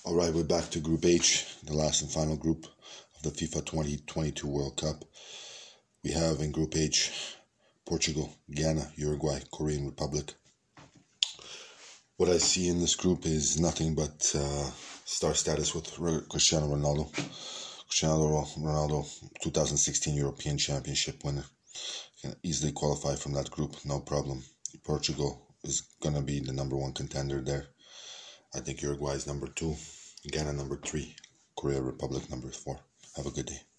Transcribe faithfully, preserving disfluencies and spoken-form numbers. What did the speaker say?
Alright, we're back to Group H, the last and final group of the FIFA twenty twenty-two World Cup. We have in Group H, Portugal, Ghana, Uruguay, Korean Republic. What I see in this group is nothing but uh, star status with Cristiano Ronaldo. Cristiano Ronaldo, two thousand sixteen European Championship winner. Can easily qualify from that group, no problem. Portugal is going to be the number one contender there. I think Uruguay is number two, Ghana number three, Korea Republic number four. Have a good day.